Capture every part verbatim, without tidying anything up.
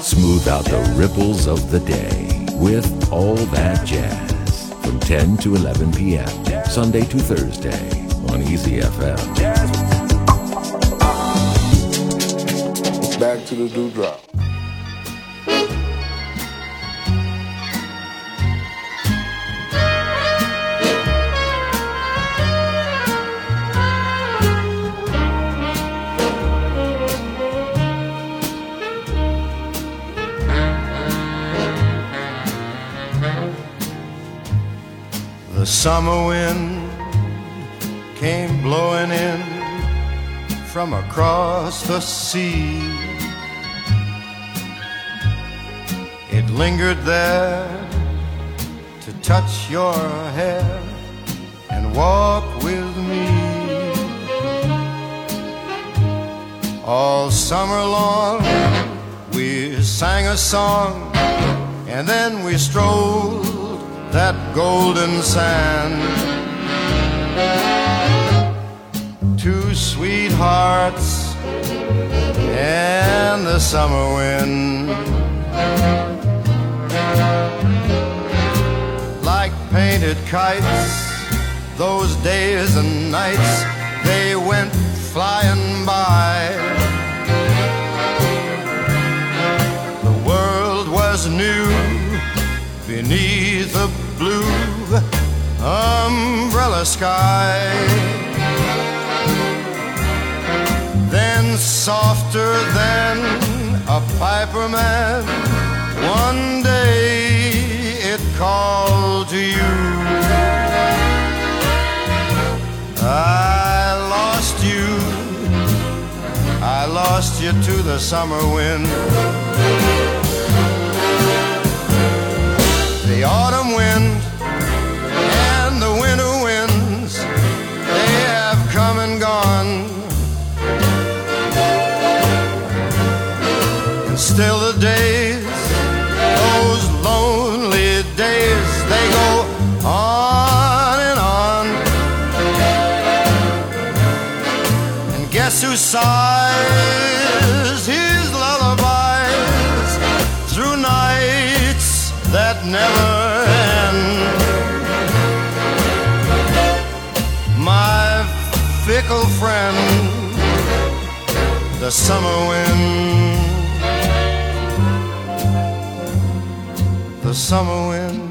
Smooth out the ripples of the day with All That Jazz from ten to eleven p.m. Sunday to Thursday on Easy F M. Back to the dewdrop. The summer wind came blowing in from across the sea. It lingered there to touch your hair and walk with me. All summer long we sang a song, and then we strolled that golden sand. Two sweethearts and the summer wind, like painted kites, those days and nights, they went flying by. The world was new beneath a blue umbrella sky. Then softer than a piper man, one day it called to you. I lost you, I lost you to the summer wind. The autumn wind and the winter winds, they have come and gone. And still the days, those lonely days, they go on and on. And guess who sighs his lullabies through nights that never end? My fickle friend, the summer wind, the summer wind,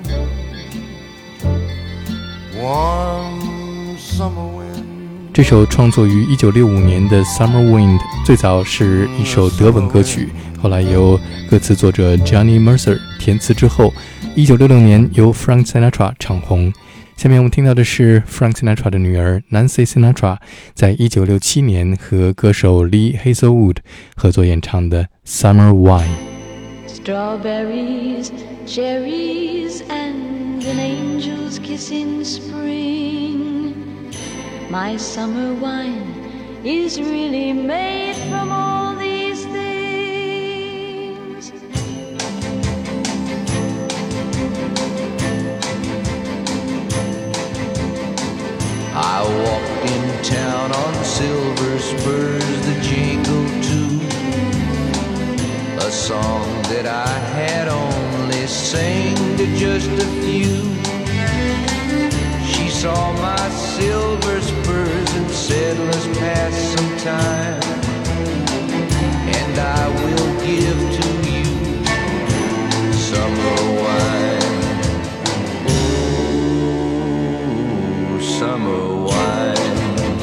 warm summer wind。 这首创作于一九六五年的 Summer Wind 最早是一首德文歌曲，后来由歌词作者 Johnny Mercer 填词之后，一九六六年由 Frank Sinatra 唱红。下面我们听到的是 Frank Sinatra 的女儿 Nancy Sinatra 在一九六七年和歌手 Lee Hazelwood 合作演唱的 Summer Wine。Strawberries, cherries, and an angel's kiss in spring. My summer wine is really made from all these things. I walked in town on silver spurs that jingle too, a song that I had only sang to just a few. She saw my silver spurs and said, let's pass some time, and I will give to you summer wine. Ooh, summer wine.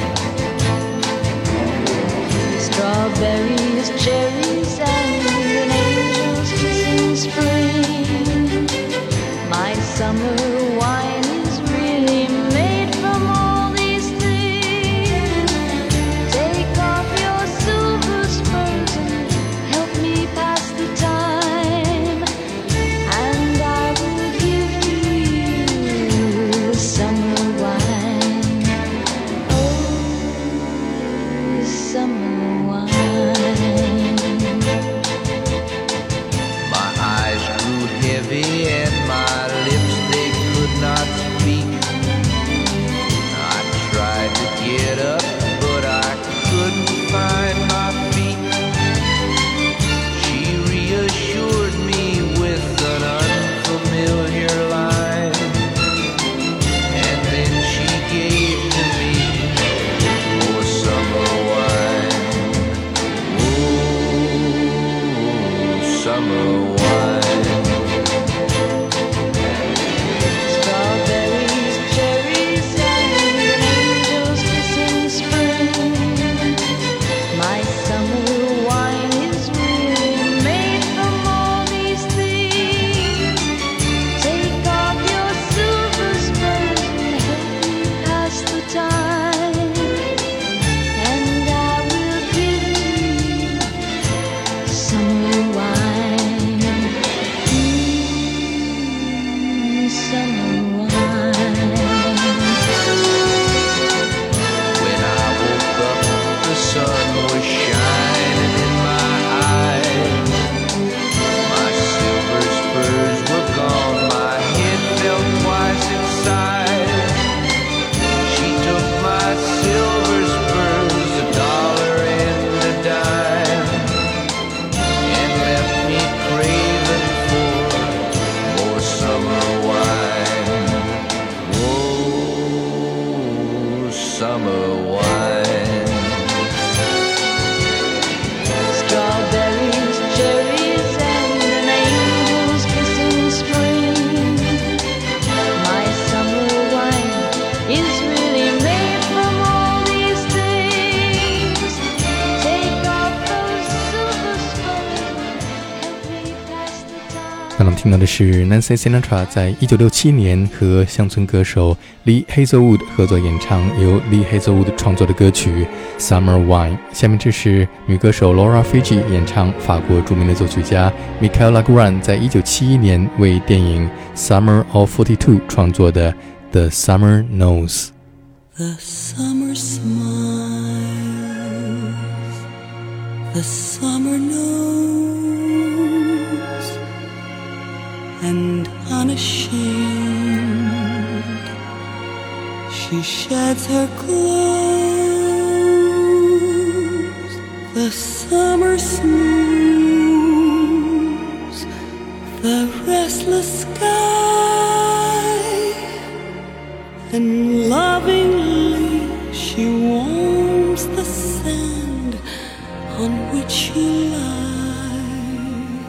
Strawberries, cherries, and an angel's kiss in spring. My summer wine is really made from all these things. Take off your silver spurs and help summer wine. Mm, summer wine. When I woke up, the sun was shining in my eyes. My silver spurs were gone, my head fell twice inside. She took my silver spurs, a dollar and a dime, and left me craving for more summer wine. Oh, summer wine. Strawberries, cherries, and an angel's kiss in spring. My summer wine is really made from all these things. Take off those silver spurs, help me pass the time. 刚刚听到的是 Nancy Sinatra 在一九六七年和乡村歌手 Lee Hazelwood 合作演唱，由 Lee Hazelwood 创作的歌曲 Summer Wine。下面这是女歌手 Laura Fiji 演唱法国著名的作曲家 Michel Legrand 在一九七一年为电影 Summer of 四十二创作的 The Summer Knows。 The summer smiles, the summer knows, and unashamed she sheds her clothes. The summer smooths the restless sky, and lovingly she warms the sand on which you lie.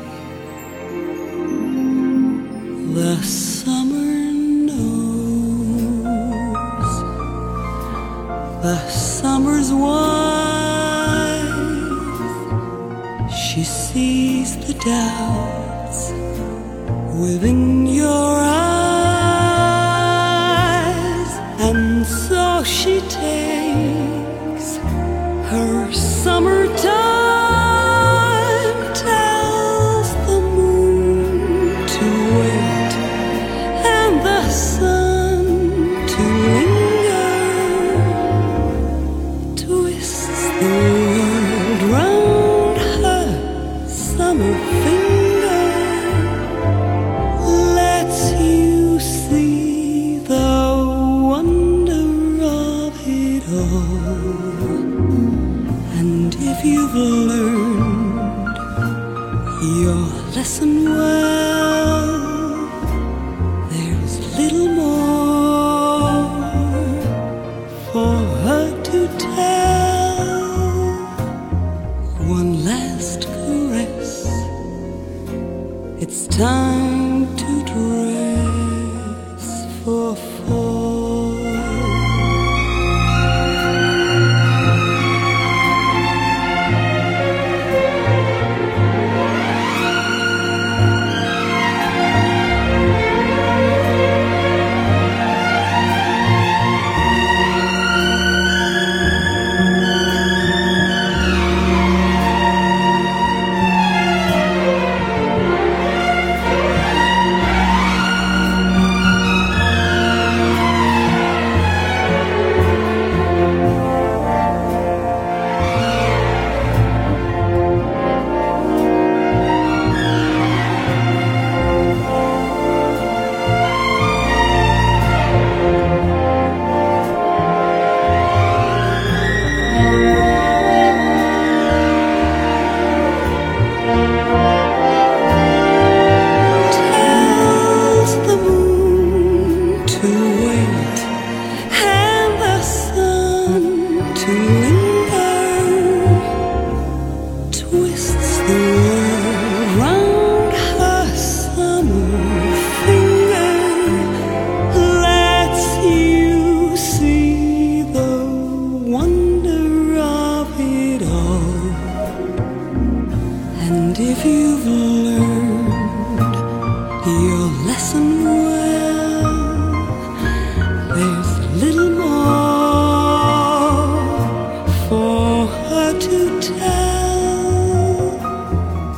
The summer knows, the summer's wife. She sees the doubts within your eyes, and so she takes her summertime, tells the moon to wait and the sun to linger, twists the world round her summer finger, lets you see the wonder of it all. And if you've learned your lesson well, there's little more for her to tell. One last caress, it's time to dress for fall. Tells the moon to wait and the sun to linger, twists the world round her summer finger, lets you see the wonder of it all. And if you've learned your lesson well, there's little more for her to tell.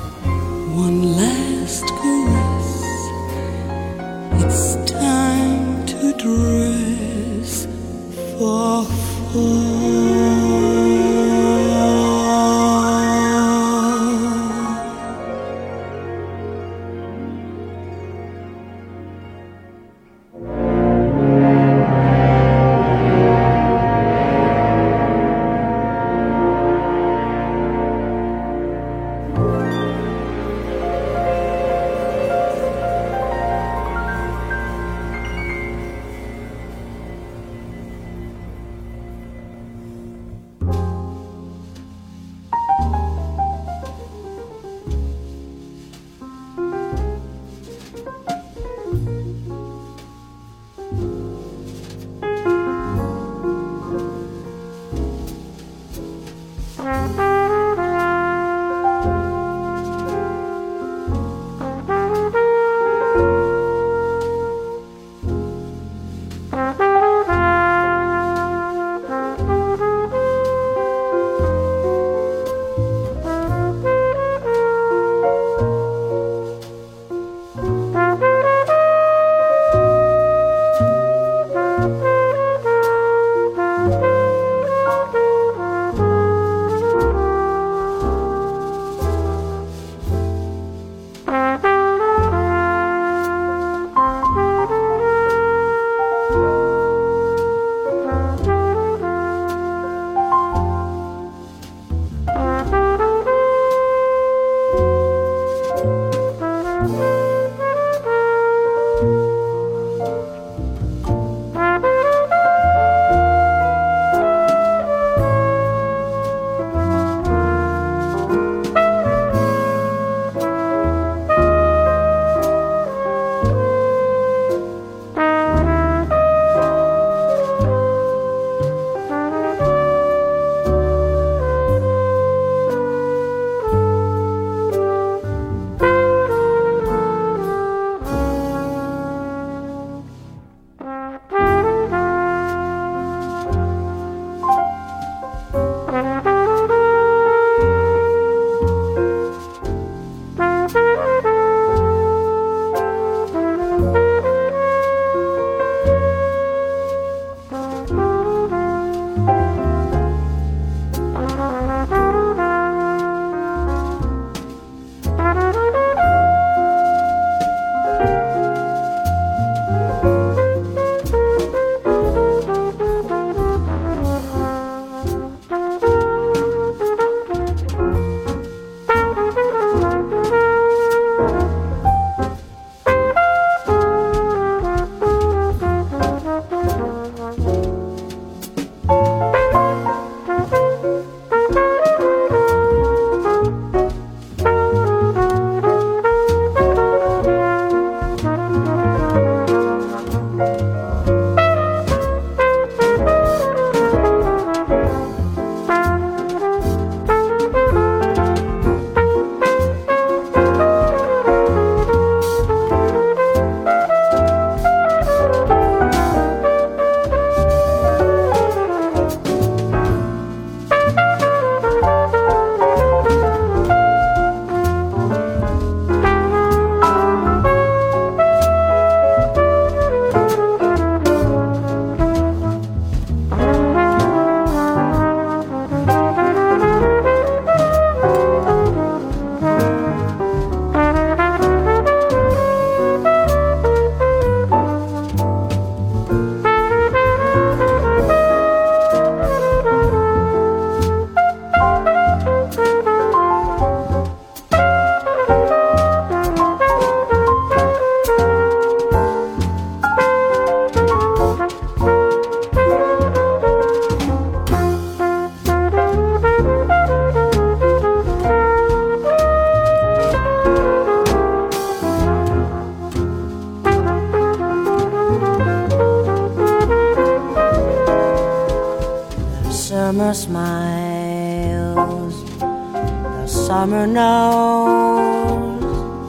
summer knows,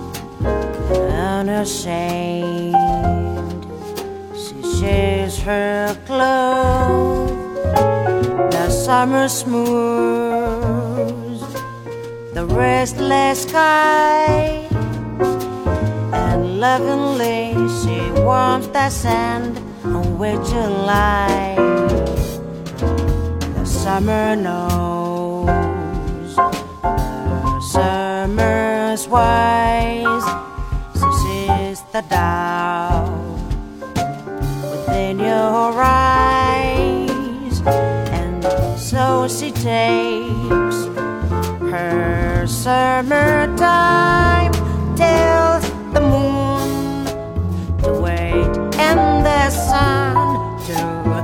unashamed, she shares her clothes. The summer smooths the restless sky, and lovingly she warms the sand on which you lie. The summer knows, the summer's wise, so sees the doubt within your eyes, and so she takes her summertime, tells the moon to wait and the sun to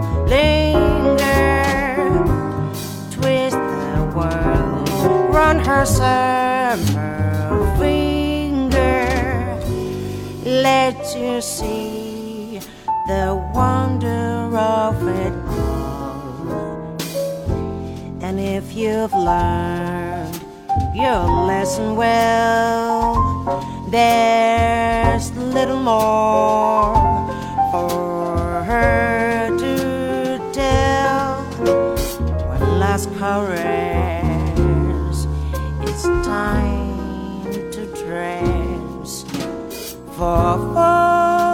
linger, twist the world round her summer finger, let you see the wonder of it all. And if you've learned your lesson well, there's little more for her to tell. One last caress, it's time to dress for fall.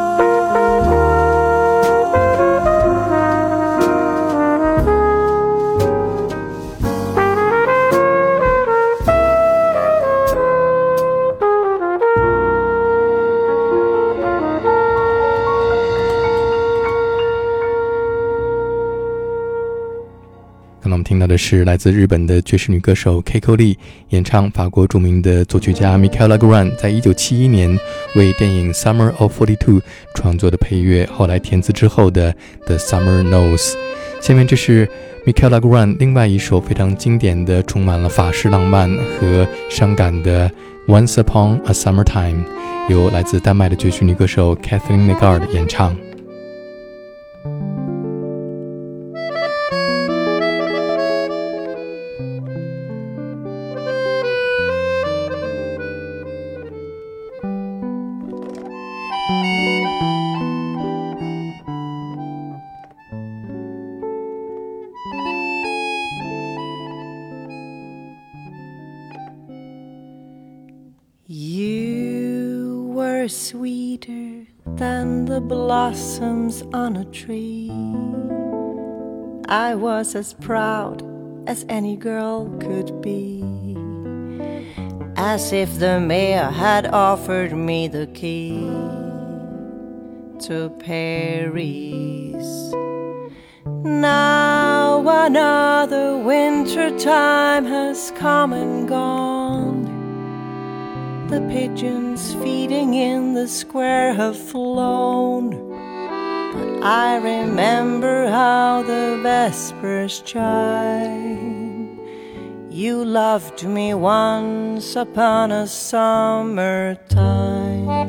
听到的是来自日本的爵士女歌手 Keiko Lee 演唱法国著名的作曲家 Michel Legrand 在一九七一年为电影 Summer of 四十二创作的配乐，后来填词之后的 The Summer Knows。 下面这是 Michel Legrand 另外一首非常经典的充满了法式浪漫和伤感的 Once Upon a Summertime， 由来自丹麦的爵士女歌手 Kathleen Negard 演唱。 You were sweeter than the blossoms on a tree. I was as proud as any girl could be, as if the mayor had offered me the key to Paris. Now another winter time has come and gone. The pigeons feeding in the square have flown, but I remember how the vespers chime. You loved me once upon a summertime.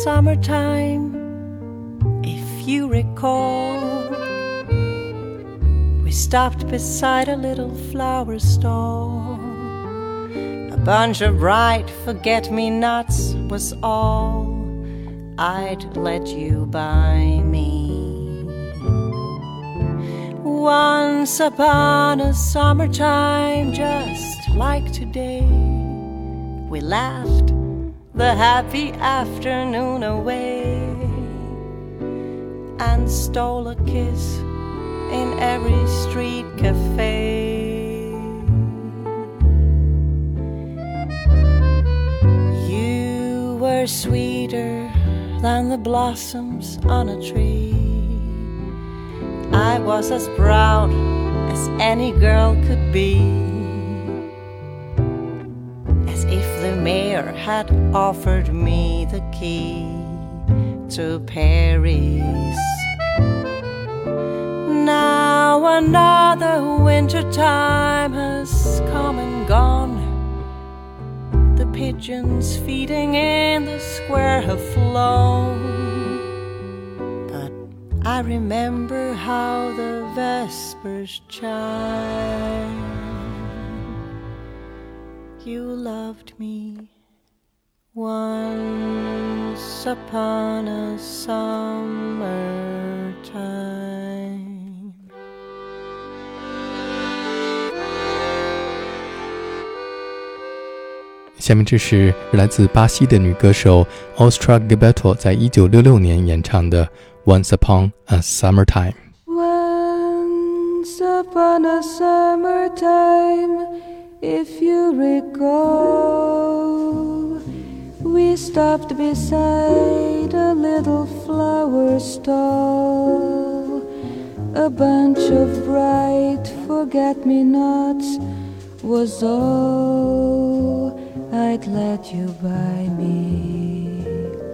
summertime, if you recall, we stopped beside a little flower stall. A bunch of bright forget-me-nots was all I'd let you buy me. Once upon a summertime, just like today, we laughed the happy afternoon away and stole a kiss in every street cafe. You were sweeter than the blossoms on a tree. I was as proud as any girl could be, as if the mayor had offered me the key to Paris. Now another winter time has come and gone. The pigeons feeding in the square have flown, but I remember how the vespers chime. You loved me once upon a summertime. 下面这是来自巴西的女歌手 Austria Gilberto 在一九六六年演唱的 Once Upon a Summertime。 Once upon a summertime, if you recall, we stopped beside a little flower stall. A bunch of bright forget-me-nots was all I'd let you buy me.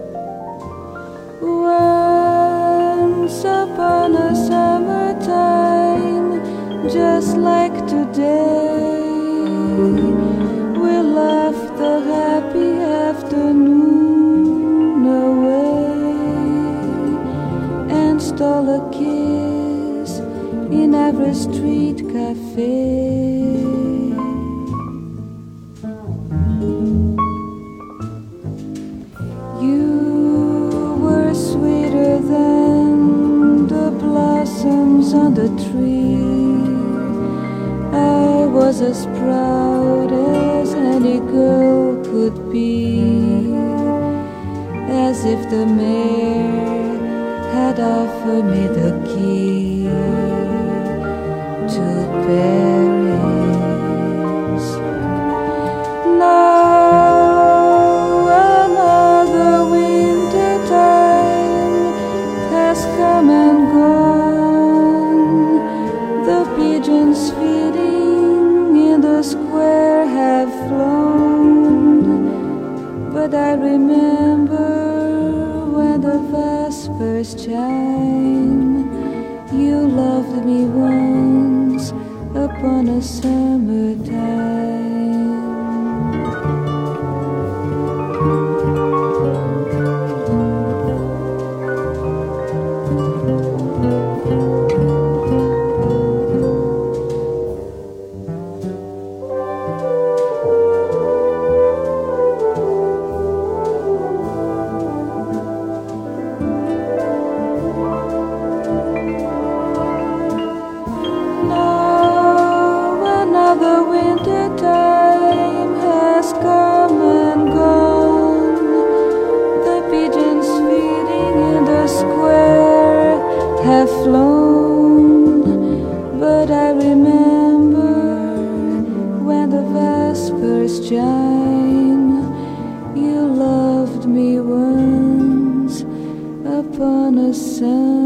Once upon a summertime, just like today, we left the happy afternoon away and stole a kiss in every street cafe. On the tree, I was as proud as any girl could be, as if the mayor had offered me the key to Paris. Now another winter time has come and gone. Pigeons feeding in the square have flown, but I remember when the vespers chime. You loved me once upon a summertime. Have flown, but I remember when the vespers chime. You loved me once upon a sun.